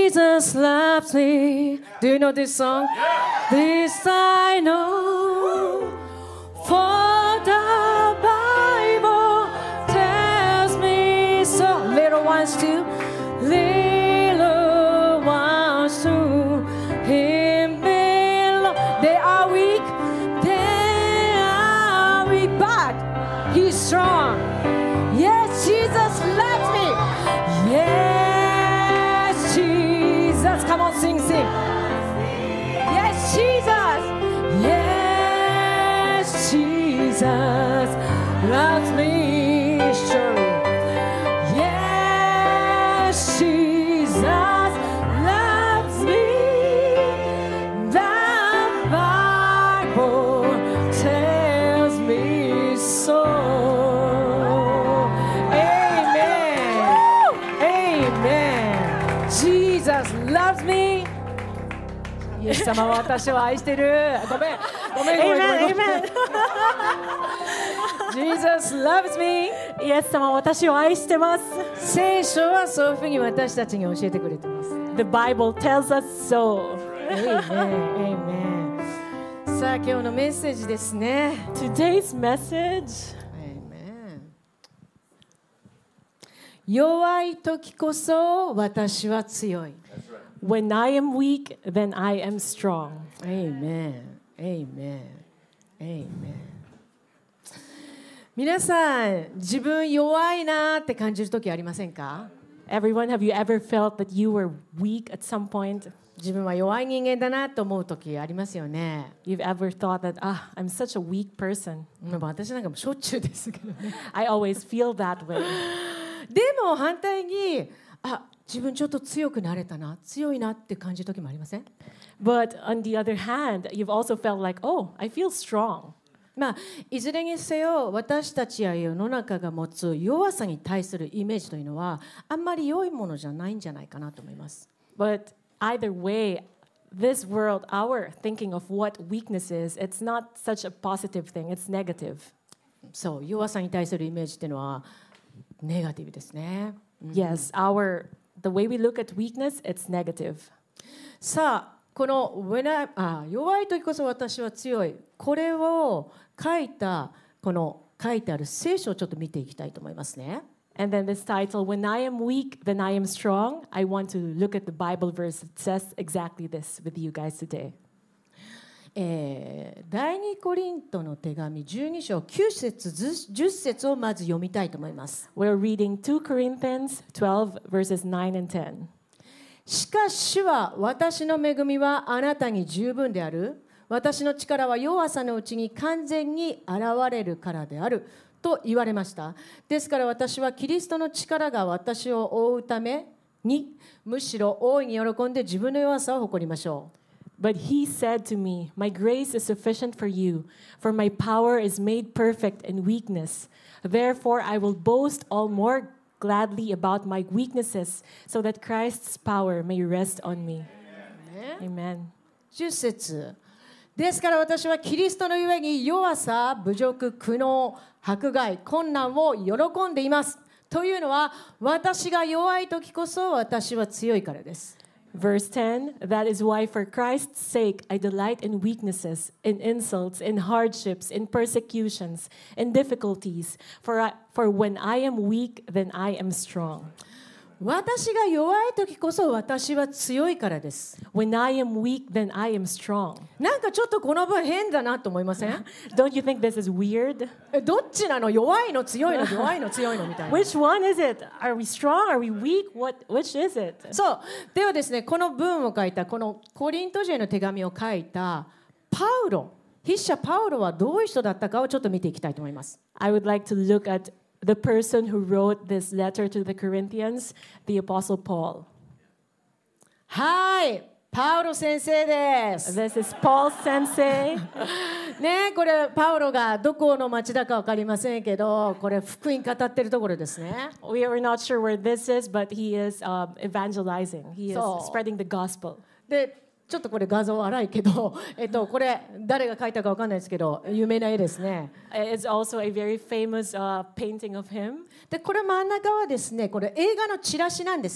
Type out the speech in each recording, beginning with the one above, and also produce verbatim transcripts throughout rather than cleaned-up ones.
Jesus loves me. Do you know this song? This I know, for the Bible tells me so. Little ones too, little ones to Him belong. They are weak, they are weak, but He's strong. Yes, Jesus loves me. Yes, Jesus. Come on, sing, sing. Yes, Jesus. Yes, Jesus loves me. Surely. Yes, Jesus loves me. The Bible tells me so. Jesus loves me. イエス様は私を愛してる。ごめん、ごめん、ごめん、ごめん。Amen, amen. Jesus loves me. イエス様は私を愛してます。 聖書はそういうふうに私たちに教えてくれてます。 The Bible tells us so. Amen, amen. さあ、今日のメッセージですね。 Today's message. Amen. 弱い時こそ私は強い。 When I am weak, then I am strong. Amen. Amen. Amen. 皆さん、自分弱いなって感じる時ありませんか？ Everyone, have you ever felt that you were weak at some point? 自分は弱い人間だなと思う時ありますよね。 You've ever thought that, ah, I'm such a weak person. 私なんかもしょっちゅうですけどね。 I always feel that way. でも反対に、あ、自分ちょっと強くなれたな、強いなって感じる時もありません？ But on the other hand, you've also felt like, oh, I feel strong. まあ、いずれにせよ私たちや世の中が持つ弱さに対するイメージというのはあんまり良いものじゃないんじゃないかなと思います。 But either way, this world, our thinking of what weakness is, it's not such a positive thing. It's negative. そう、弱さに対するイメージっていうのはネガティブですね。 Yes, our the way we look at weakness, it's negative. さあ、この When I, あ弱い時こそ私は強い。これを書いたこの書いてある聖書をちょっと見ていきたいと思いますね。 And then this title, When I am weak, then I am strong. I want to look at the Bible verse that says exactly this with you guys today. えー、第二コリントの手紙じゅうに章きゅう節じゅっ節をまず読みたいと思います。 We're reading two Corinthians twelve verses nine and ten. しかし主は私の恵みはあなたに十分である。私の力は弱さのうちに完全に現れるからであると言われました。ですから私はキリストの力が私を覆うためにむしろ大いに喜んで自分の弱さを誇りましょう。 But he said to me, My grace is sufficient for you, for my power is made perfect in weakness. Therefore I will boast all more gladly about my weaknesses, so that Christ's power may rest on me. Amen. じゅっ節ですから私はキリストのゆえに弱さ、侮辱、苦悩、迫害、困難を喜んでいます。というのは私が弱い時こそ私は強いからです。 Verse ten, that is why for Christ's sake I delight in weaknesses, in insults, in hardships, in persecutions, in difficulties. For, I, for when I am weak, then I am strong. 私が弱い時こそ私は強いからです。 When I am weak, then I am strong. なんかちょっとこの文変だなと思いません？ Don't you think this is weird? え、どっちなの？弱いの強いの弱いの強いのみたいな。 Which one is it? Are we strong? Are we weak? What? Which is it? そう。ではですね、この文を書いたこのコリント人への手紙を書いたパウロ、筆者パウロはどういう人だったかをちょっと見ていきたいと思います。 I would like to look at the person who wrote this letter to the Corinthians, the Apostle Paul. はい、パウロ先生です。 This is Paul Sensei. ね、これパウロがどこの町だか分かりませんけど、これ福音語ってるところですね。 We are not sure where this is, but he is um, evangelizing. He is So- spreading the gospel. で、ちょっとこれ画像荒いけど、えっとこれ誰が描いたか分かんないですけど、有名な絵ですね。 It's also a very famous uh, painting of him. で、これ真ん中はですね、これ映画のチラシなんですね。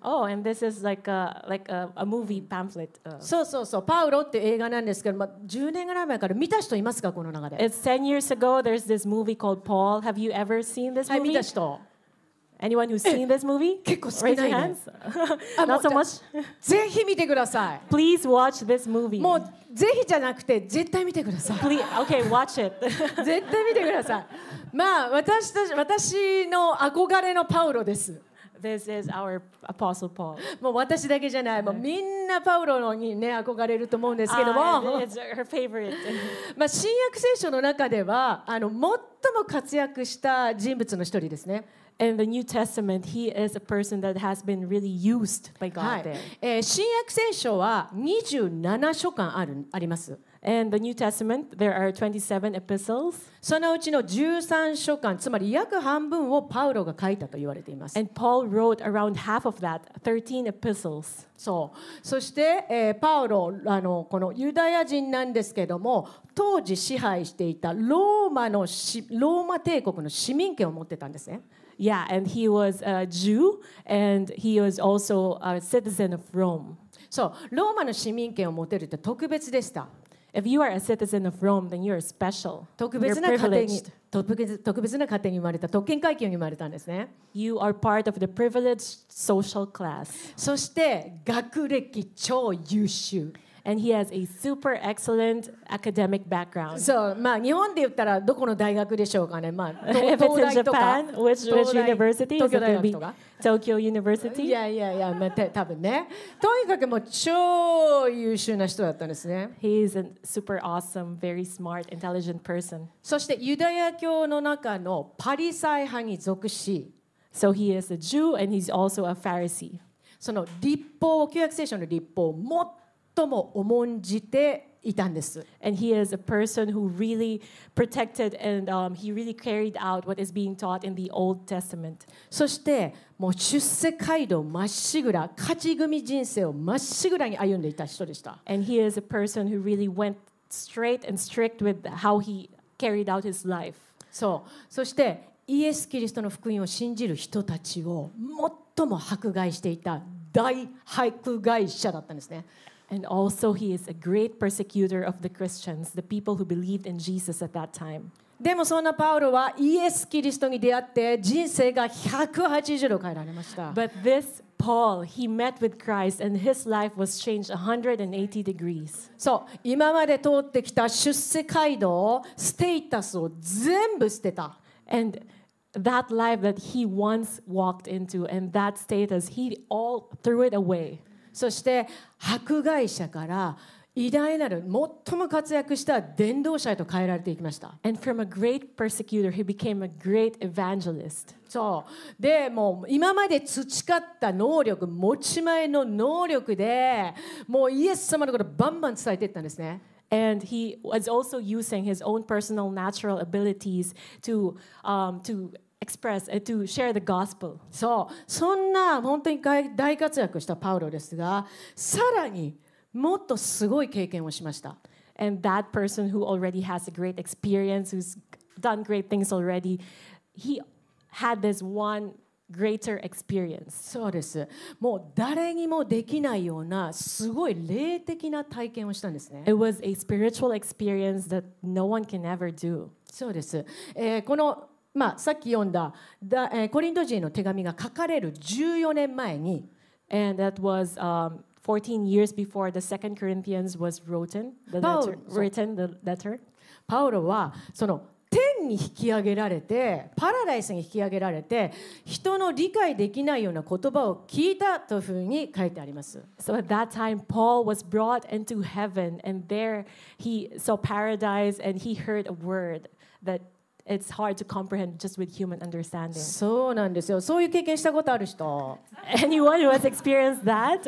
Oh, and this is like a like a, a movie pamphlet. Uh, そうそうそう、パウロっていう映画なんですけど、まあ、じゅうねんぐらい前から見た人いますか、この中で。 it's ten years ago. There's this movie called Paul. Have you ever seen this はい、見 movie? た人。 Anyone who's seen this movie? 結構少 Raise な your いね。 hands. あ、もう Not so much. ぜひ見てください。 Please watch this movie. もうぜひじゃなくて絶対見てください。 Please, okay, watch it. 絶対見てください。まあ私たち私の憧れのパウロです。 This is our Apostle Paul. もう私だけじゃない、もうみんなパウロにね憧れると思うんですけども、 Uh, it's her favorite. まあ新約聖書の中ではあの最も活躍した人物の一人ですね。 In the New Testament, he is a person that has been really used by は God い there. えー新約聖書はにじゅうなな書簡あるあります。 In the New Testament, there are twenty-seven epistles, そのうちのじゅうさん書簡、つまり約半分をパウロが書いたと言われています。 and Paul wrote around half of that, thirteen epistles. そうそして、えーパウロあのこのユダヤ人なんですけども、当時支配していたローマのしローマ帝国の市民権を持ってたんですね。 Yeah, and he was a Jew, and he was also a citizen of Rome. そうローマの市民権を持てるって特別でした。 If you are a citizen of Rome, then you're special. 特 You're 別な家庭に privileged. 特別特別な家庭に生まれた、特権階級に生まれたんですね。 You are part of the privileged social class. そして学歴超優秀。 And he has a super excellent academic background. そうまあ日本で言ったらどこの大学でしょうかね。まあ If 東 it's in 大とか Japan, which, which 東大 university? 東 Is 京 it 大 going to 学 be とか。 Tokyo い University? やいやいや、まあ、た多分ね。とにかくもう超優秀な人だったんですね。 He is a super awesome, very smart, intelligent person. そしてユダヤ教の中のパリサイ派に属し、 So he is a Jew and he's also a Pharisee. その立法を旧約聖書の立法を最も重んじていたんです。 And he is a person who really protected and um, he really carried out what is being taught in the Old Testament. そしてもう出世街道まっしぐら、勝ち組人生をまっしぐらに歩んでいた人でした。 And he is a person who really went straight and strict with how he carried out his life. そうそしてイエス・キリストの福音を信じる人たちを最も迫害していた大迫害者だったんですね。 And also, he is a great persecutor of the Christians, the people who believed in Jesus at that time. でもそんなパウロはイエス・キリストに出会って人生がひゃくはちじゅうど変えられました。 But this Paul, he met with Christ and his life was changed one hundred eighty degrees. そう今まで通ってきた出世街道、ステータスを全部捨てた。 And that life that he once walked into and that status, he all threw it away. そして迫害者から偉大なる最も活躍した伝道者へと変えられていきました。 And from a great persecutor, he became a great evangelist. そうでもう今まで培った能力、持ち前の能力でもうイエス様のことをバンバン伝えていったんですね。 And he was also using his own personal natural abilities to, um, to express, uh, to share the gospel. そうそんな本当に大活躍したパウロですが、さらにもっとすごい経験をしました。 And that person who already has a great experience, who's done great things already, he had this one greater experience. そうです。もう誰にもできないようなすごい霊的な体験をしたんですね。 It was a spiritual experience that no one can ever do. そうです。えーこのまあ、さっき読んだだ、えーコリント人への手紙が書かれるじゅうよねんまえに、 And that was um, fourteen years before the Second Corinthians was written, the Paul- letter, written, the letter. パウロはその天に引き上げられてパラダイスに引き上げられて人の理解できないような言葉を聞いたというふうに書いてあります。 So at that time, Paul was brought into heaven, and there he saw paradise, and he heard a word that it's hard to comprehend just with human understanding. そうなんですよ。そういう経験したことある人。 Anyone who has experienced that?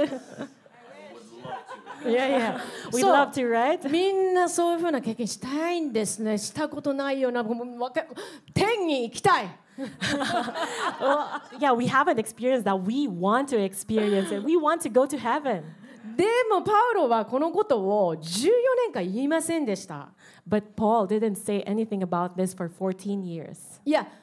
いやいや、 We'd そう love to, right? みんなそういうふうな経験したいんですね。したことないような、もうわか天に行きたい。 Well, yeah, we haven't experienced that. We want to experience it. We want to go to heaven. でもパウロはこのことをじゅうよねんかん言いませんでした。 But Paul didn't say anything about this for fourteen years. いや、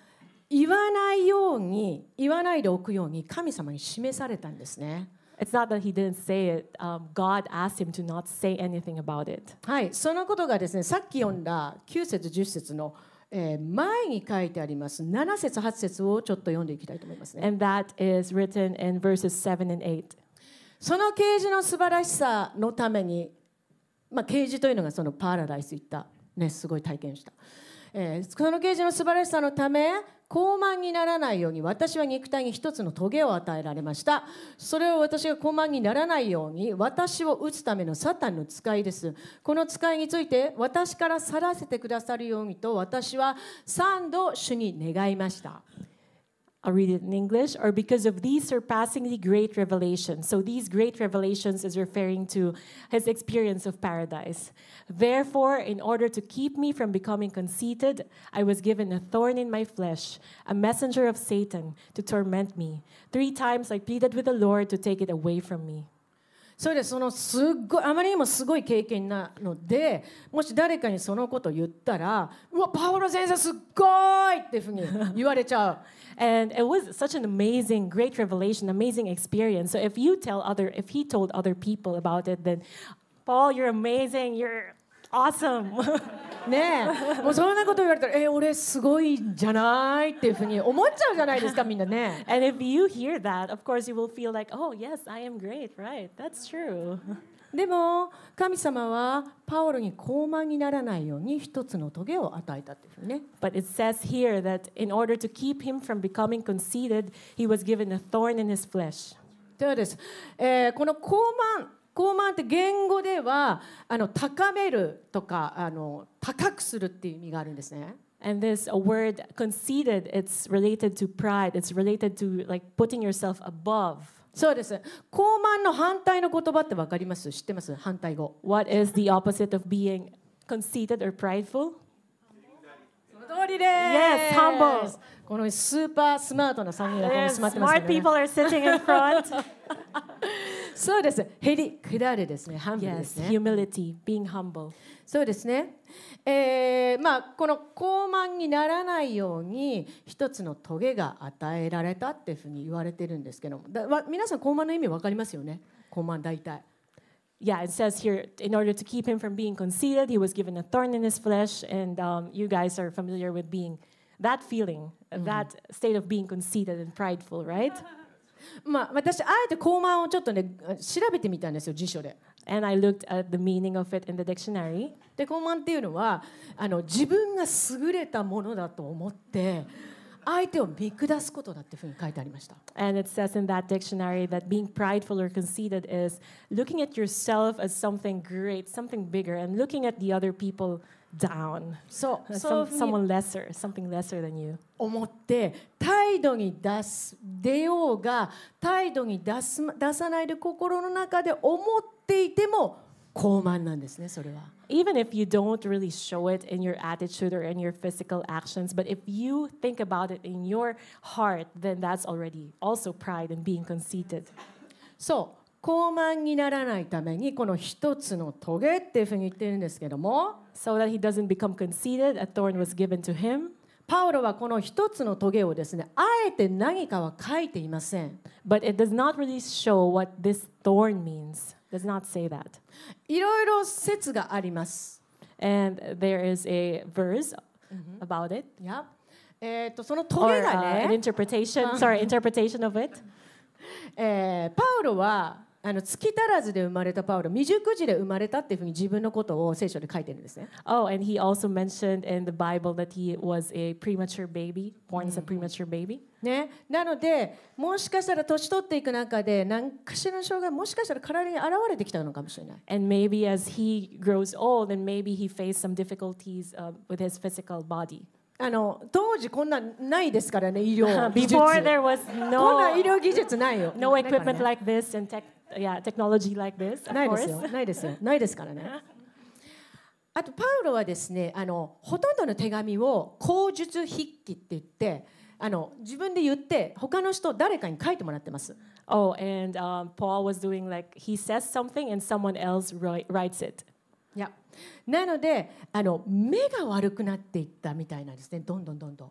言わないように言わないでおくように神様に示されたんですね。 It's not that he didn't say it. Um, God asked him to not say anything about it. はい、そのことがですね、さっき読んだきゅう節じゅっ節の、えー前に書いてありますなな節はち節をちょっと読んでいきたいと思いますね。 And that is written in verses seven and eight. その啓示の素晴らしさのために、まあ、啓示というのがそのパラダイス行った、ね、すごい体験した、えー、その啓示の素晴らしさのため傲慢にならないように私は肉体に一つの棘を与えられました。それを私が傲慢にならないように私を打つためのサタンの使いです。この使いについて私から去らせてくださるようにと私は三度主に願いました。 I'll read it in English. Or because of these surpassingly great revelations. So these great revelations is referring to his experience of paradise. Therefore, in order to keep me from becoming conceited, I was given a thorn in my flesh, a messenger of Satan to torment me. Three times I pleaded with the Lord to take it away from me. それでそのすっごいあまりにもすごい経験なので、もし誰かにそのことを言ったら、うわパウロ先生すっごいっていうふうに言われちゃう。 And it was such an amazing, great revelation, amazing experience. So if you tell other, if he told other people about it, then Paul, you're amazing, you're awesome. ねえ、もうそんなこと言われたら、え俺すごいんじゃないっていうふうに思っちゃうじゃないですかみんなね。 And if you hear that, of course you will feel like, oh yes, I am great, right? That's true. でも神様はパウロに傲慢にならないように一つの棘を与えたっていうふうにね。 But it says here that in order to keep him from becoming conceited, he was given a thorn in his flesh. ではです、えーこの傲慢傲慢って言語ではあの高めるとかあの高くするっていう意味があるんですね。 And this a word conceited, it's related to pride. It's related to like putting yourself above. そうです。傲慢の反対の言葉ってわかります？知ってます？反対語。 What is the opposite of being conceited or prideful? その通りです。 Yes, humble. このスーパースマートなさんにんがここに Yes, 座ってますけ smart ど、ね、 people are sitting in front. そうです。へり下るですね。ハンブルです Yes, ね。 humility, being humble. そうですね。えーまあ、この傲慢にならないように一つの棘が与えられたっていうふうに言われてるんですけども、だわ皆さん傲慢の意味わかりますよね。傲慢大体。 Yeah, it says here, in order to keep him from being conceited, he was given a thorn in his flesh. And um, you guys are familiar with being that feeling, mm-hmm. that state of being conceited and prideful, right? まあ、私あえて傲慢をちょっとね調べてみたんですよ辞書で。 And I looked at the meaning of it in the dictionary. で傲慢っていうのはあの自分が優れたものだと思って相手を見下すことだっていうふうに書いてありました。 And it says in that dictionary that being prideful or conceited is looking at yourself as something great, something bigger, and looking at the other people down. そう、 Some, そういうふうに someone lesser, something lesser than you. 思って態度に出す出ようが態度に出す出さないで心の中で思っていても傲慢なんですね、それは。 Even if you don't really show it in your attitude or in your physical actions, but if you think about it in your heart, then that's already also pride and being conceited. そう傲慢にならないためにこの一つの棘っていうふうに言ってるんですけども、 So that he doesn't become conceited, a thorn was given to him. パウロはこの一つの棘をですねあえて何かは書いていません。 But it does not really show what this thorn means. It does not say that. いろいろ説があります。 And there is a verse about it. いや、えー、とその Or 棘が uh, an ね、 interpretation, sorry, interpretation of it. えーパウロはあの月足らずで生まれたパウロ、未熟児で生まれたっていうふうに自分のことを聖書で書いてるんですね。 Oh, and he also mentioned in the Bible that he was a premature baby, born as a premature baby. ね、なのでもしかしたら年取っていく中で何かしらの障害もしかしたら体に現れてきたのかもしれない。 And maybe as he grows old, and maybe he faced some difficulties uh, with his physical body. あの当時こんなんないですからね、医療技術。 Before there was こんな医 no 療技術ないよ。 no ないから equipment ね like this and tech, yeah, technology like this, of ないです course. よ、ないですよ、ないですからね。あとパウロはですね、あのほとんどの手紙を口述筆記って言って、あの自分で言って他の人誰かに書いてもらってます。 Oh, and um, Paul was doing like he says something and someone else write, writes it. いや、なのであの目が悪くなっていったみたいなんですね、どんどんどんどん。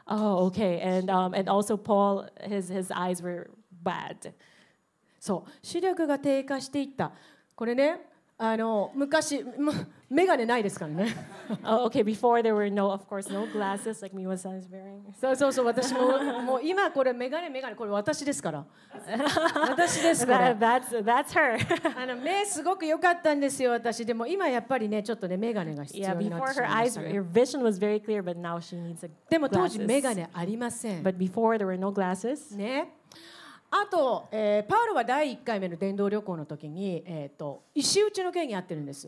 Oh, okay. And um, and also Paul, his his eyes were bad. そう視力が低下していった。これねあの昔ま眼鏡ないですからね。 Oh, okay. Before there were no, of course, no glasses like Miwa-san is wearing. そうそうそう私ももう今これ眼鏡眼鏡これ私ですから。私ですから That, that's that's her. あの目すごく良かったんですよ私でも今やっぱりねちょっとね眼鏡が必 Yeah, 要になっ before てし her まいま eyes, した her ね。 vision was very clear, but now she needs a でも当時 glasses. 眼鏡ありません。 But before there were no glasses. ね。あと、えーパウロはだいいっかいめの伝道旅行の時に、えー、と石打ちの刑に遭ってるんです。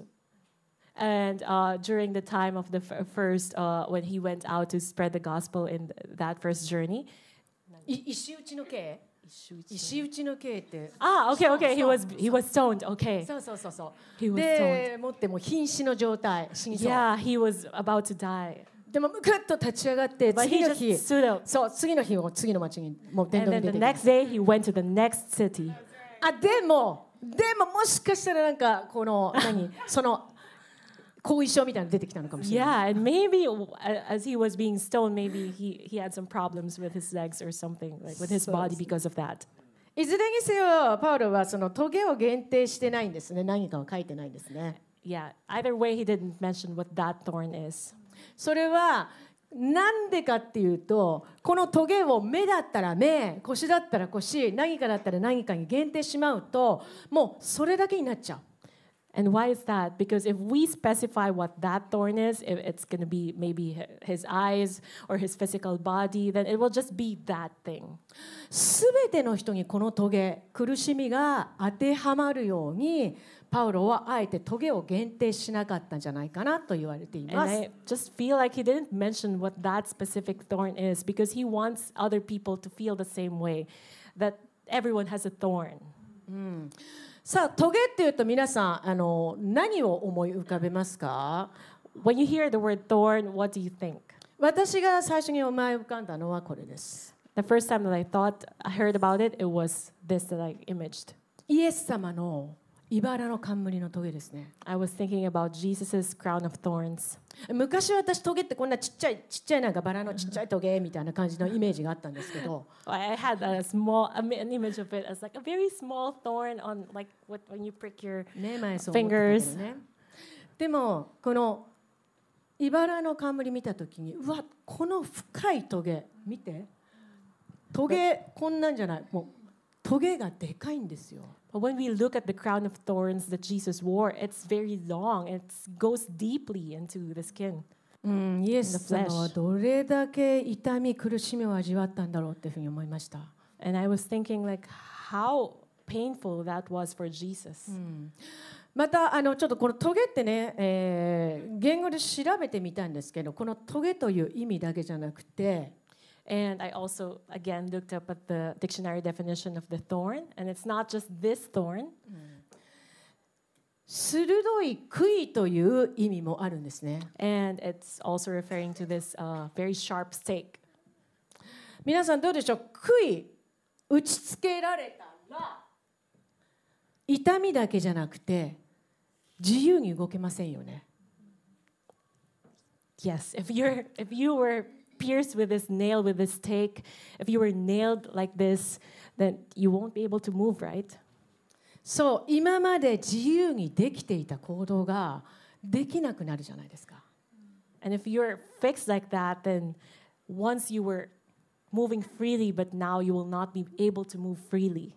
And uh, during the time of the f- first, uh, when he went out to spread the gospel in th- that first journey. い石打ちの刑石打ちの刑って Ah, okay, okay. He So- was he was stoned. Okay. そうそうそうそ He う was でもってもう瀕死の状態死にそう Yeah, he was about to die. でもぐっと立ち上がって But 次 he の just 日 stood up. そう次の日を次の町にもう伝 And 道に then 出 the てきま next す day, he went to the next city. あでもでももしかしたらなんかこの何その後遺症みたいなの出てきたのかもしれない Yeah, and maybe w- a- as he was being stoned, maybe he, he had some problems with his legs or something, like with his So- body because of that. いずれにせよパウロはそのトゲを限定してないんですね何かを書いてないんですね Yeah, either way, he didn't mention what that thorn is. それはなんでかっていうとこのトゲを目だったら目腰だったら腰何かだったら何かに限定してしまうともうそれだけになっちゃう And why is that? Because if we specify what that thorn is, if it's going to be maybe hi- his eyes or his physical body, then it will just be that thing. すべての人にこのトゲ苦しみが当てはまるようにパウロはあえてトゲを限定しなかったんじゃないかなと言われてい And ます I just feel like he didn't mention what that specific thorn is because he wants other people to feel the same way, that everyone has a thorn. さあトゲっていうと皆さんあの何を思い浮かべますか When you hear the word thorn, what do you think? 私が最初に思い浮かんだのはこれです The first time that I thought, I heard about it, it was this that I imaged. イエス様の茨の冠のトゲですね I was thinking about Jesus' crown of thorns. 昔私トゲってこんなちっちゃいちっちゃいなんかバラのちっちゃいトゲみたいな感じのイメージがあったんですけど I had a small, a, an image of it as like a very small thorn on, like what, when you prick your. ね前そう思ってたけ Fingers どねでもこの茨の冠見た時にうわこの深いトゲ見てトゲこんなんじゃないもうトゲがでかいんですよ But when we look at the crown of thorns that Jesus wore, it's very long. It goes deeply into the skin. うん、イエス様はどれだけ痛み苦しみを味わったんだろうっていうふうに思いました。 And I was thinking, like, how painful that was for Jesus. またあのちょっとこのトゲってね、えー言語で調べてみたんですけどこのトゲという意味だけじゃなくて And I also, again, looked up at the dictionary definition of the thorn. And it's not just this thorn, 鋭い杭という意味もあるんですね。 and it's also referring to this uh, very sharp stake. 皆さんどうでしょう杭打ちつけられたら痛みだけじゃなくて自由に動けませんよね。 Yes, if you're if you were pierced with this nail, with this stake, if you were nailed like this, then you won't be able to move, right? そう今まで自由にできていた行動ができなくなるじゃないですか。 And if you're fixed like that, then once you were moving freely, but now you will not be able to move freely.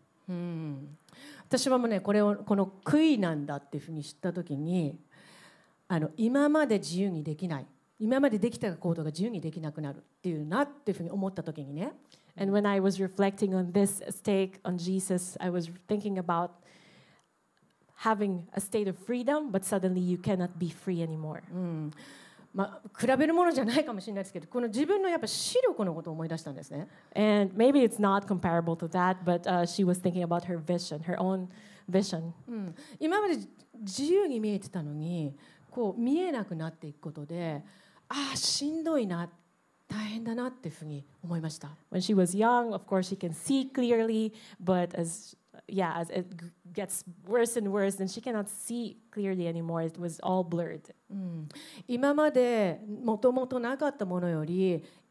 私はもうねこれをこの杭なんだっていうふうに知った時にあの今まで自由にできない今までできた行動が自由にできなくなるっていうなっていうふうに思った時にね And when I was reflecting on this stake on Jesus, I was thinking about having a state of freedom, but suddenly you cannot be free anymore. まあ、比べるものじゃないかもしれないですけどこの自分のやっぱ視力のことを思い出したんですね。 And maybe it's not comparable to that, but uh, she was thinking about her vision, her own vision. うん今まで自由に見えてたのにこう見えなくなっていくことでああしんどいな大変だなっていうふうに思いました。 When she was young, of course, she can see clearly, but as yeah, as it g- gets worse and worse, then she cannot see clearly anymore. It was all blurred. 今までもともとなかったものより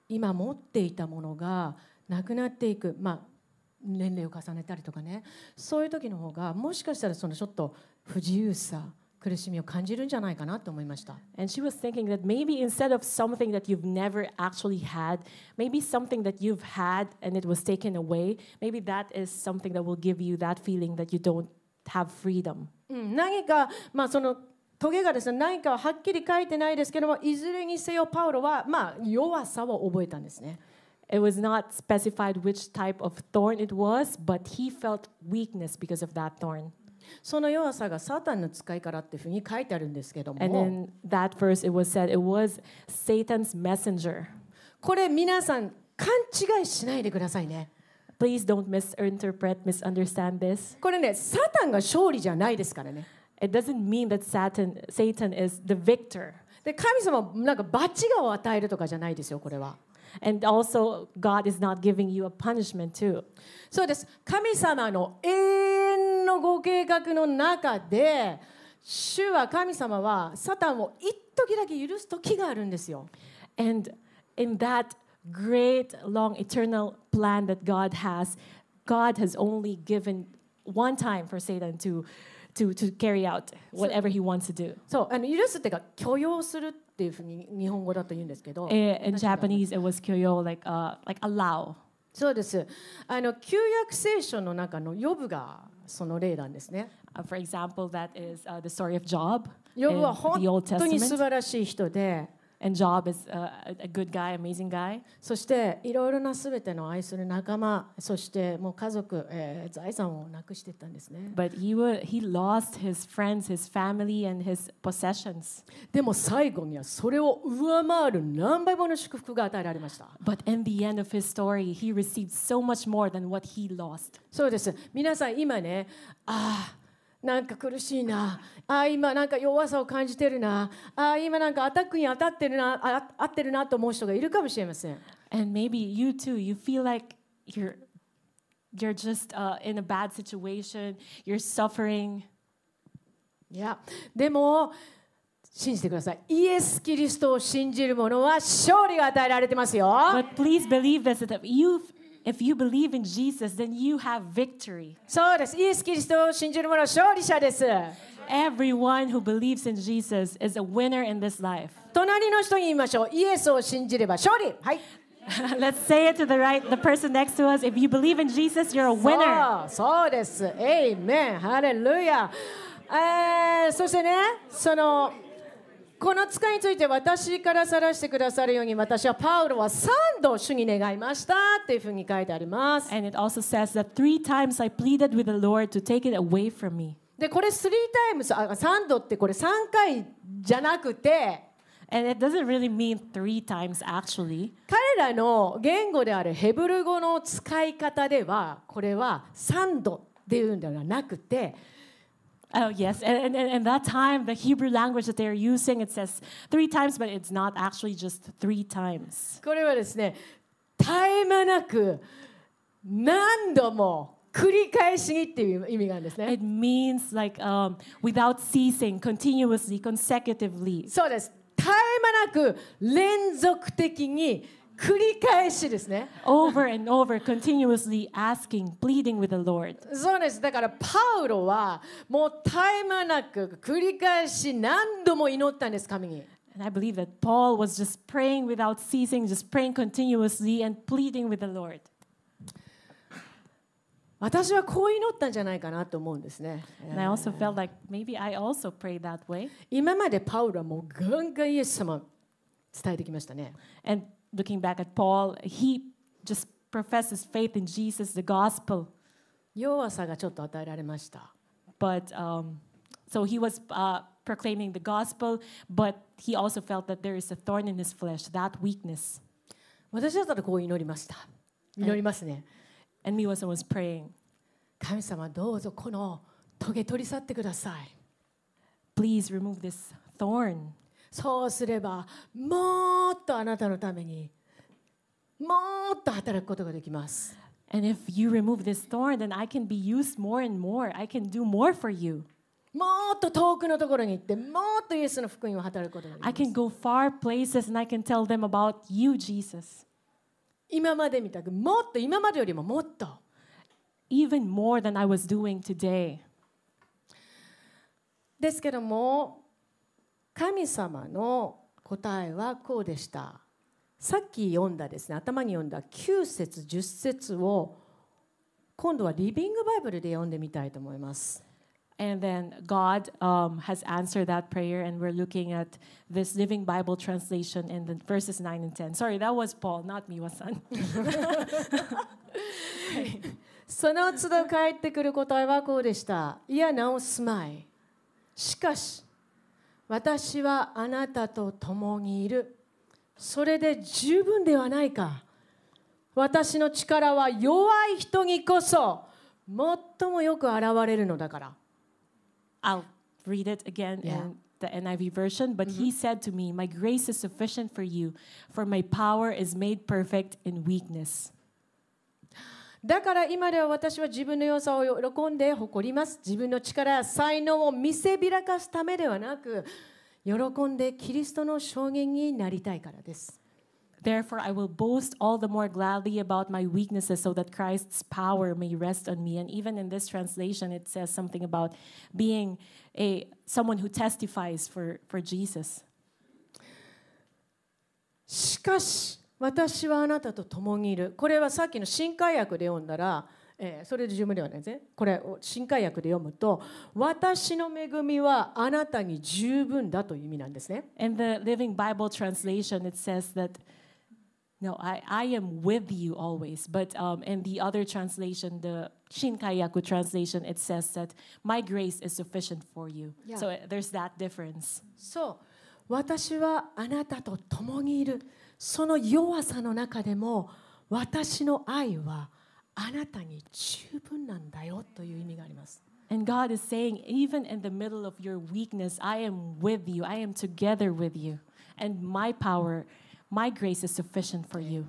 今持っていたものがなくなっていく、まあ、年齢を重ねたりとかね、そういう時の方がもしかしたらそのちょっと不自由さ、苦しみを感じるんじゃないかなと思いました。 And she was thinking that maybe instead of something that you've never actually had, maybe something that you've had and it was taken away, maybe that is something that will give you that feeling that you don't have freedom. うん、何か、まあ、そのトゲがですね、何かははっきり書いてないですけども、いずれにせよパウロは、まあ、弱さを覚えたんですね。 It was not specified which type of thorn it was, but he felt weakness because of that thorn. その弱さがサタンの使いからっていうふうに書いてあるんですけども、 And in that verse it was said it was Satan's messenger. これ皆さん勘違いしないでくださいね。 Please don't misinterpret, misunderstand this. これね、サタンが勝利じゃないですからね。 It doesn't mean that Satan, Satan is the victor. で、神様はなんか罰が与えるとかじゃないですよ、これは。 And also, God is not giving you a punishment too. そうです。神様の永遠のご計画の中で、主は神様はサタンを一時だけ許す時があるんですよ。 And in that great, long, eternal plan that God has, God has only given one time for Satan to, to, to carry out whatever he wants to do. そう、あの許すっていうか許容するっていうふうに日本語だと言うんですけど。 In, in Japanese, it was kyoyo, like, uh, like allow. そうです。あの旧約聖書の中のヨブがその例なんですね。 Uh, for example, that is uh, the story of Job ヨ in ブは本 the Old 当に素 Testament. 晴らしい人で、 And Job is uh, a a good guy, amazing guy. そしていろいろなすべての愛する仲間、そしてもう家族、えー財産をなくしていったんですね。 But he wa- he lost his friends, his family, and his possessions. でも最後にはそれを上回る何倍もの祝福が与えられました。 But in the end of his story, he received so much more than what he lost. そうです。皆さん今ね、ああなんか苦しいな、ああ今なんか弱さを感じてるな、ああ今なんかアタックに当たってるな、あ合ってるなと思う人がいるかもしれません。 And maybe you too, you feel like you're you're just uh, in a bad situation, you're suffering. いや、でも信じてください。イエス・キリストを信じる者は勝利が与えられてますよ。 But please believe this, that if you if you believe in Jesus, then you have victory. そうです。イエス・キリストを信じる者は勝利者です。 Everyone who believes in Jesus is a winner in this life. 隣の人に言いましょう。イエスを信じれば勝利。はい。 Let's say it to the right, the person next to us. If you believe in Jesus, you're a winner. そう、そうです。エイメン。ハレルヤ。えー、そしてね、そのこの使いについて私から晒してくださるように、私はパウロは三度主に願いましたっていうふうに書いてあります。 And it also says that three times I pleaded with the Lord to take it away from me. で、これスリータイムス、あ、三度ってこれ三回じゃなくて、 And it doesn't really mean three times actually. 彼らの言語であるヘブル語の使い方では、これは三度っていうんではなくて、 Oh, yes. And, and, and that time, the Hebrew language that they're using, it says three times, but it's not actually just three times. これはですね、絶え間なく何度も繰り返しにっていう意味があるんですね。 It means like um, without ceasing, continuously, consecutively. そうです。絶え間なく連続的に繰り返しですね。 Over and over, continuously asking, pleading with the Lord. そうです。だからパウロはもう絶え間なく繰り返し何度も祈ったんです、神に。 And I believe that Paul was just praying without ceasing, just praying continuously and pleading with the Lord. 私はこう祈ったんじゃないかなと思うんですね。 And I also felt like maybe I also prayed that way. 今までパウロはもうガンガンイエス様伝えてきましたね。 And looking back at Paul, he just professed his faith in Jesus, the gospel. 弱さがちょっと与えられました。 But um, so he was uh, proclaiming the gospel, but he also felt that there is a thorn in his flesh, that weakness. 私だったらこう祈りました。祈りますね。 And Miwasan was praying, 神様どうぞこのトゲ取り去ってください。 please remove this thorn. そうすればもっとあなたのためにもっと働くことができます。 And if you remove this thorn, then I can be used more and more. I can do more for you. もっと遠くのところに行ってもっとイエスの福音を働くことができ I ます。 can go far places and I can tell them about you, Jesus. 今までみたくもっと今までよりももっと even more than I was doing today. ですけども神様の答えはこうでした。さっき読んだですね、頭に読んだきゅう節じゅっ節を今度はリビングバイブルで読んでみたいと思います。 And then God um, has answered that prayer, and we're looking at this Living Bible translation in the verses nine and ten. Sorry, that was Paul, not me, Wasan. その都度返ってくる答えはこうでした。いやなお住まい。しかし、私はあなたと共にいる。それで十分ではないか。私の力は弱い人にこそ最もよく現れるのだから。 I'll read it again Yeah. in the N I V version. But he said to me, My grace is sufficient for you, for my power is made perfect in weakness. だから今では私は自分の良さを喜んで誇ります。自分の力や才能を見せびらかすためではなく、喜んでキリストの証言になりたいからです。 Therefore, I will boast all the more gladly about my weaknesses so that Christ's power may rest on me. And even in this translation, it says something about being a someone who testifies for, for Jesus. しかし、私はあなたと共にいる。これはさっきの新海訳で読んだら、えー、それで十分ではないですね。これを新海訳で読むと、私の恵みはあなたに十分だという意味なんですね。 In the Living Bible translation, it says that No, I, I am with you always. But um, in the other translation, the Shinkayaku translation, it says that my grace is sufficient for you. Yeah. So uh, there's that difference. そう、私はあなたと共にいる。その弱さの中でも、私の愛はあなたに十分なんだよという意味があります。 And God is saying, even in the middle of your weakness, I am with you. I am together with you. And my power, my grace is sufficient for you.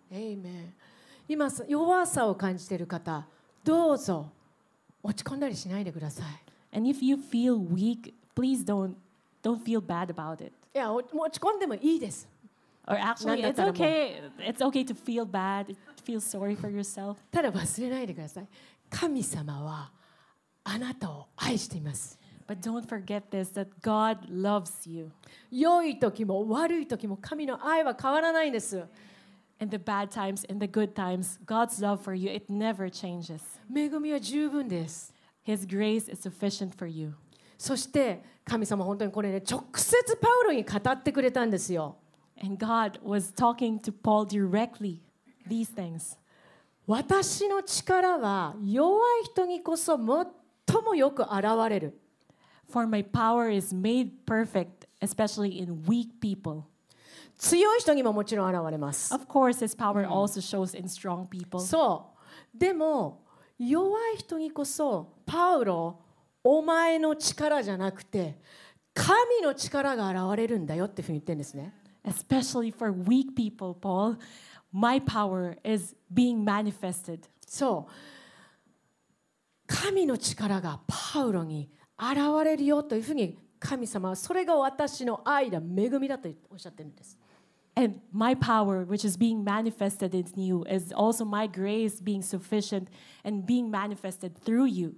Amen. 今弱さを感じている方、どうぞ落ち込んだりしないでください。 And if you feel weak, please don't don't feel bad about it. いや、落ち込んでもいいです。 Or actually, it's なんだったらもう。 okay. It's okay to feel bad, feel sorry for yourself. ただ忘れないでください。神様はあなたを愛しています。 But don't forget this, that God loves you. 良い時も悪い時も神の愛は変わらないんです。 In the bad times, in the good times, God's love for you, it never changes. 恵みは十分です。 His grace is sufficient for you. そして神様本当にこれね直接パウロに語ってくれたんですよ。 And God was talking to Paul directly these things. 私の力は弱い人にこそ最もよく現れる。 For my power is made perfect, especially in weak people. 強い人にももちろん現れます。 Of course, His power also shows in strong people. そう。でも弱い人にこそパウロ、お前の力じゃなくて神の力が現れるんだよっていうふうに言ってるんですね。 Especially for weak people, Paul, my power is being manifested. そう。神の力がパウロに現れるよというふうに神様はそれが私の愛だ、恵みだとおっしゃってるんです。 And my power, which is being manifested in you, is also my grace being sufficient and being manifested through you.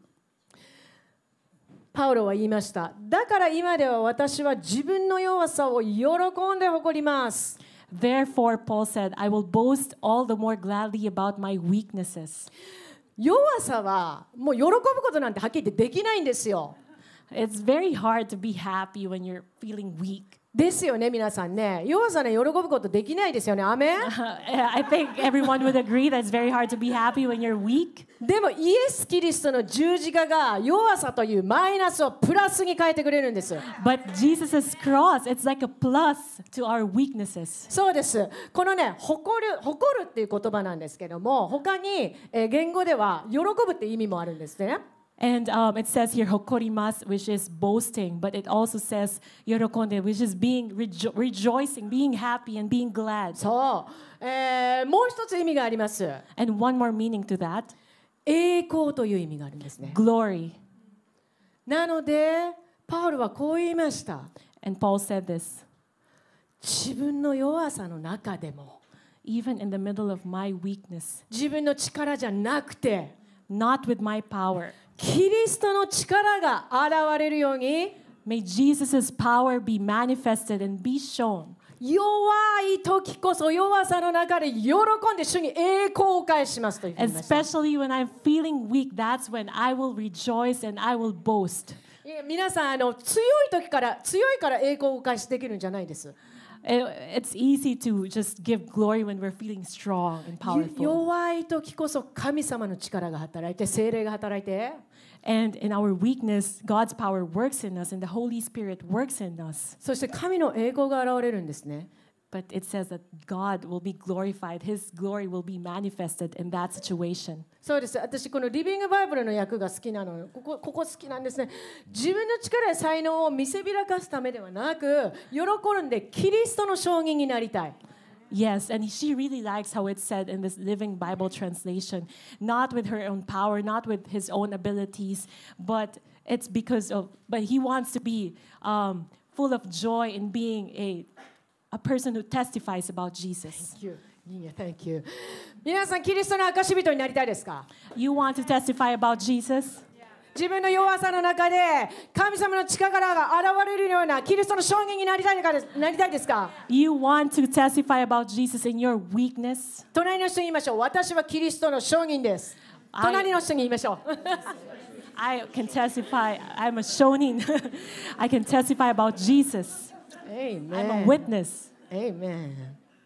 パウロは言いました。だから今では私は自分の弱さを喜んで誇ります。 Therefore, Paul said, I will boast all the more gladly about my weaknesses. 弱さはもう喜ぶことなんてはっきり言ってできないんですよ。 It's very hard to be happy when you're feeling weak. ですよね、皆さんね。弱さね、喜ぶことできないですよね。アメン。 I think everyone would agree that it's very hard to be happy when you're weak. でもイエス・キリストの十字架が弱さというマイナスをプラスに変えてくれるんです。 But Jesus' cross, it's like a plus to our weaknesses. そうです。このね、誇る、誇るっていう言葉なんですけども、他に、えー、言語では喜ぶっていう意味もあるんですね。 And um, it says here hokorimasu, which is boasting, but it also says yorokonde, which is being rejo- rejoicing, being happy and being glad. そう、えー、もう一つ意味があります。 And one more meaning to that, 栄光という意味があるんですね。 glory. なので、パウロはこう言いました。 And Paul said this, 自分の弱さの中でも、 even in the middle of my weakness, 自分の力じゃなくて not with my power. キリストの力が現れるように May Jesus' power be manifested and be shown. 弱い時こそ弱さの中で喜んで主に栄光を返しますというふうに言いました。 Especially when I'm feeling weak, that's when I will rejoice and I will boast. いや皆さんあの強い時から強いから栄光を返しできるんじゃないです。 It- It's easy to just give glory when we're feeling strong and ゆ powerful. 弱い時こそ神様の力が働いて聖霊が働いて And in our weakness, God's power works in us and the Holy Spirit works in us. そして神の栄光が現れるんですね。 But it says that God will be glorified. His glory will be manifested in that situation. そうです。私このリビングバイブルの役が好きなの。ここここ好きなんですね。自分の力や才能を見せびらかすためではなく、喜んでキリストの証人になりたい。 Yes, and she really likes how it's said in this Living Bible translation, not with her own power, not with his own abilities, but it's because of, but he wants to be um, full of joy in being a, a person who testifies about Jesus. Thank you. Yeah, thank you. 皆さんキリストの証人になりたいですか？ You want to testify about Jesus? 自分の弱さの中で神様の力が現れるようなキリストの証人になりたいかですなりたいですか？ You want to testify about Jesus in your weakness? 隣の人に言いましょう。私はキリストの証人です。 I- 隣の人に言いましょう。 I can testify. I'm a shonin. I can testify about Jesus. I'm a witness. Amen.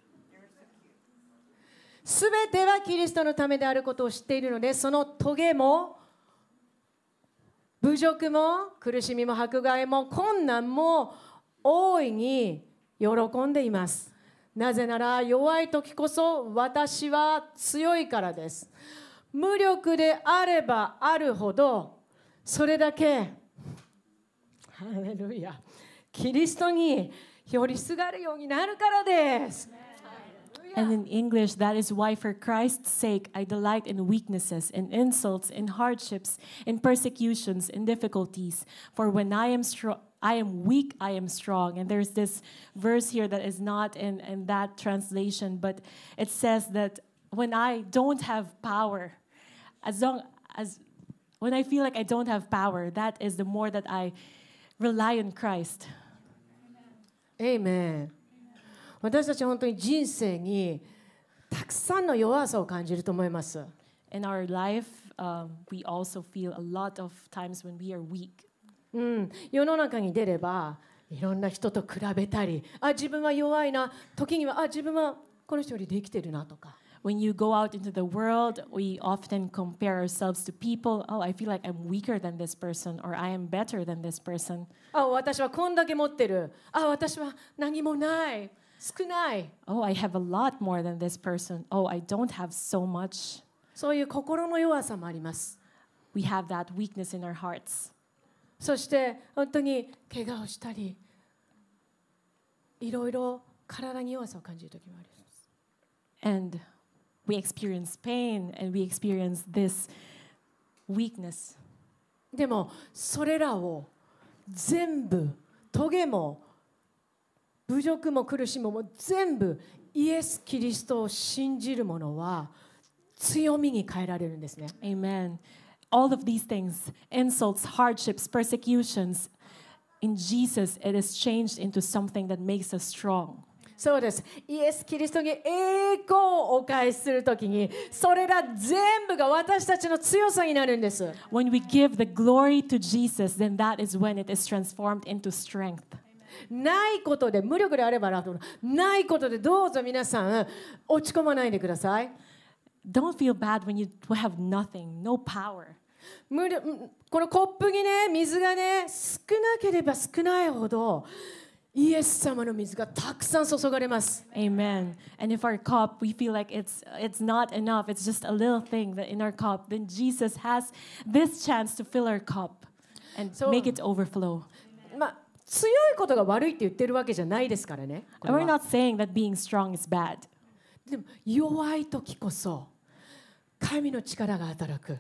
すべてはキリストのためであることを知っているので、その棘も侮辱も苦しみも迫害も困難も大いに喜んでいます。なぜなら弱い時こそ私は強いからです。無力であればあるほどそれだけハレルヤキリストに寄りすがるようになるからです。 And in English, that is why for Christ's sake I delight in weaknesses, in insults, in hardships, in persecutions, in difficulties. For when I am strong, I am weak, I am strong. And there's this verse here that is not in, in that translation, but it says that when I don't have power, as long as when I feel like I don't have power, that is the more that I rely on Christ. Amen. 私たちは本当に人生にたくさんの弱さを感じると思います。 In our life, um, we also feel a lot of times when we are weak. うん、世の中に出ればいろんな人と比べたり、あ、自分は弱いな、時にはあ、自分はこの人よりできてるなとか。 When you go out into the world, we often compare ourselves to people. Oh, I feel like I'm weaker than this person, or I am better than this person. あ、私はこんだけ持ってる。あ、私は何もない。少ない。 Oh, I have a lot more than this person. Oh, I don't have so much. そういう心の弱さもあります。 We have that weakness in our hearts. そして本当に怪我をしたり、いろいろ体に弱さを感じる時もあります。 And we experience pain and we experience this weakness. でもそれらを全部、棘も侮辱も苦しみも全部イエス・キリストを信じる者は強みに変えられるんですね。 Amen. All of these things, insults, hardships, persecutions, in Jesus, it is changed into something that makes us strong. そうです。イエス・キリストに栄光をお返しするときに、それら全部が私たちの強さになるんです。 When we give the glory to Jesus, then that is when it is transformed into strength. ないことで、無力であればないことでどうぞ皆さん落ち込まないでください。 Don't feel bad when you have nothing, no power. 無力このコップにね、水がね、少なければ少ないほどイエス様の水がたくさん注がれます。 Amen. And if our cup, we feel like it's it's not enough, it's just a little thing that in our cup, then Jesus has this chance to fill our cup and So- make it overflow. まあ強いことが悪いって言ってるわけじゃないですからね。これ And we're は not saying that being strong is bad. でも弱い時こそ神の力が働く。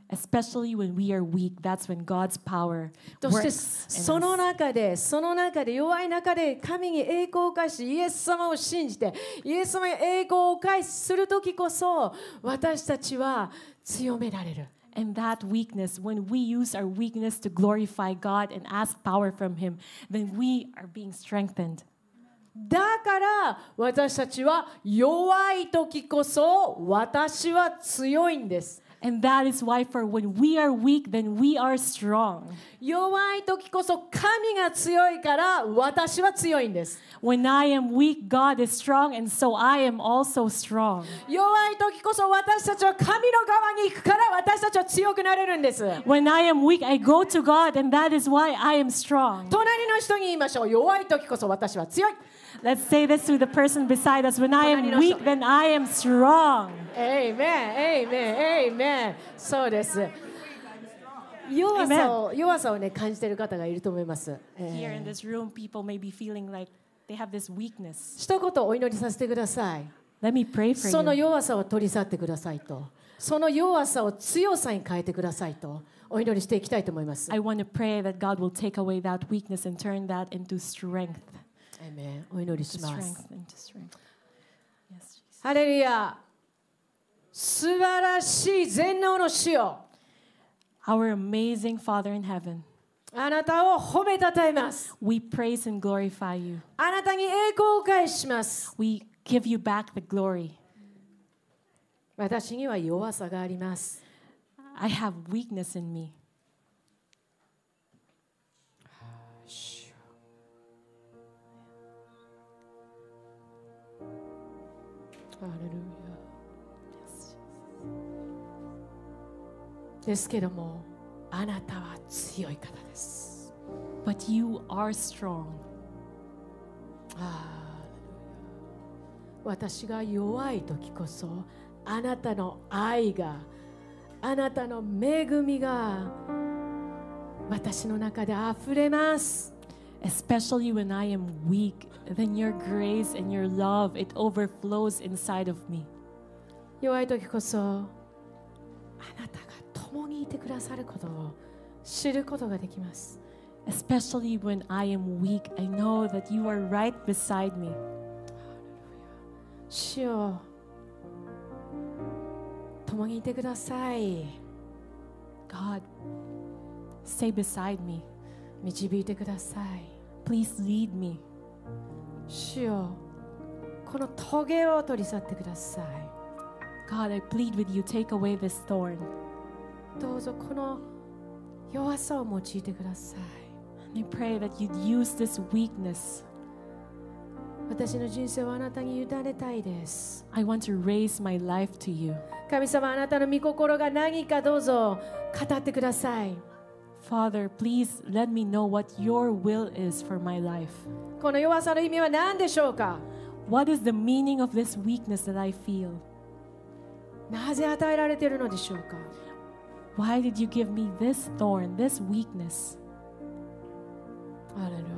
Especially when we are weak, that's when God's power そして works in その us. 中でその中で弱い中で神に栄光を返しイエス様を信じてイエス様に栄光を返しする時こそ私たちは強められる。 And that weakness, when we use our weakness to glorify God and ask power from Him, then we are being strengthened. だから私たちは弱い時こそ私は強いんです。 And that is why for when we are weak, then we are strong. 弱い時こそ神が強いから私は強いんです。 When I am weak, God is strong, and so I am also strong. 弱い時こそ私たちは神の側に行くから私たちは強くなれるんです。 When I am weak, I go to God, and that is why I am strong. 隣の人に言いましょう。弱い時こそ私は強い。 Let's say this to the person beside us. When I am weak, then I am strong. エイメン、エイメン、エイメン。そうです。弱さを、弱さをね、感じている方がいると思います。 Here in this room, people may be feeling like they have this weakness. 一言お祈りさせてください。 Let me pray for その you. 弱さを取り去ってくださいと。その弱さを強さに変えてくださいと。お祈りしていきたいと思います。 I want to pray that God will take away that weakness and turn that into strength. エイメン。お祈りし To ます。 strength, into strength. Yes, Jesus. ハレルヤ。素晴らしい全能の主よ。 Our amazing Father in heaven, あなたを褒めたたえます。 we praise and glorify you. あなたに栄光を返します。 We give you back the glory. 私には弱さがあります。 I have weakness in me. ハレルヤ。ですけども、あなたは強い方です。 But you are strong. ハレルヤ。私が弱い時こそ、あなたの愛が、あなたの恵みが私の中であふれます。 Especially when I am weak, then your grace and your love, it overflows inside of me. 弱い時こそ、あなたが共にいてくださることを知ることができます。 Especially when I am weak, I know that you are right beside me. 主よ、共にいてください。 God, stay beside me. 導いてください。 Please lead me. 主よ、このトゲを取り去ってください。 God, I plead with you, take away this thorn. どうぞこの弱さを用いてください。 And I pray that you'd use this weakness. 私の人生をあなたに委ねたいです。 I want to raise my life to you. 神様、あなたの御心が何かどうぞ語ってください。 Father, please let me know what your will is for my life. この弱さの意味は何でしょうか？ What is the meaning of this weakness that I feel? なぜ与えられているのでしょうか？ Why did you give me this thorn, this weakness? ハレルヤ。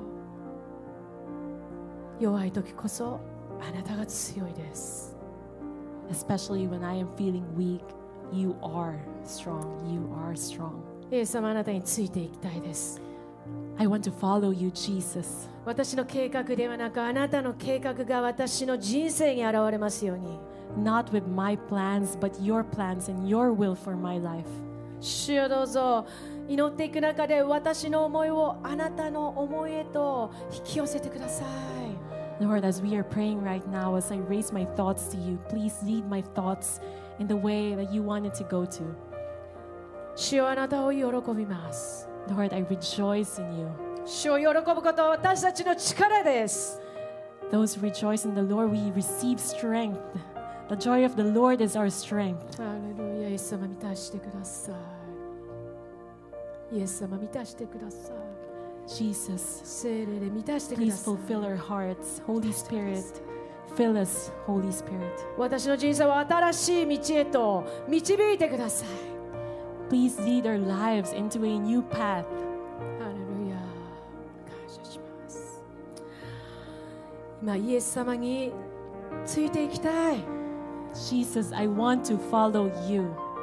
弱い時こそあなたが強いです。 Especially when I am feeling weak, you are strong. You are strong. イエス様、あなたについていきたいです。 I want to follow you, Jesus. 私の計画ではなく、あなたの計画が私の人生に現れますように。 Not with my plans, but your plans and your will for my life. 主よ、どうぞ祈っていく中で私の思いをあなたの思いへと引き寄せてください。 Lord, as we are praying right now, as I raise my thoughts to you, please lead my thoughts in the way that you want it to go to. 主よ、あなたを喜びます。 Lord, I rejoice in you. 主を喜ぶことは私たちの力です。 Those who rejoice in the Lord, we receive strength. The joy of the Lord is our strength. ハレルヤ。イエス様、満たしてください。イエス様、満たしてください。 Jesus, 聖霊で満たしてくだ please さい。 fulfill our hearts. Holy Spirit, fill us, Holy Spirit. 私の人生を新しい道へと導いてください。 Please lead our lives into a new path. ハレルヤ。感謝します。今、イエス様についていきたい。 Jesus, I want to follow you.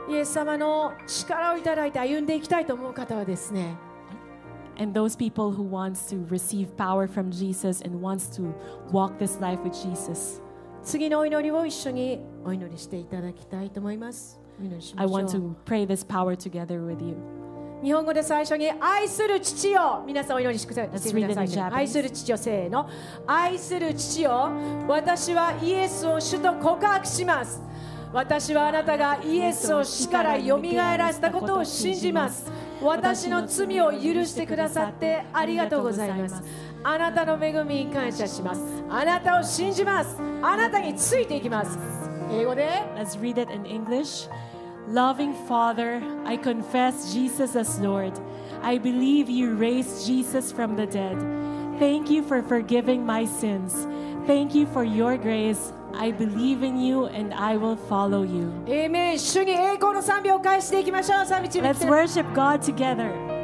イエス様の力をいただいて歩んでいきたいと思う方はですね、 And those people who wants to receive power from Jesus and wants to walk this life with Jesus. 次のお祈りを一緒にお祈りしていただきたいと思います。お祈りしま I しょう。 want to pray this power together with you. 日本語で最初に愛する父よ、皆さんお祈りしてくだ Let's してく read だ it さ in い、ね、 Japanese. 愛する父よ、せーの。愛する父よ、私はイエスを主と告白します。私はあなたがイエスを死からよみがえらせたことを信じます。私の罪を許してくださってありがとうございます。あなたの恵みに感謝します。あなたを信じます。あなたについていきます。英語で Let's read it in English. Loving Father, I confess Jesus as Lord. I believe you raised Jesus from the dead. Thank you for forgiving my sins. Thank you for your grace. I believe in you and I will follow you. エーメン。主に栄光の賛美を返していきましょう。賛美チーム来 Let's て worship God together.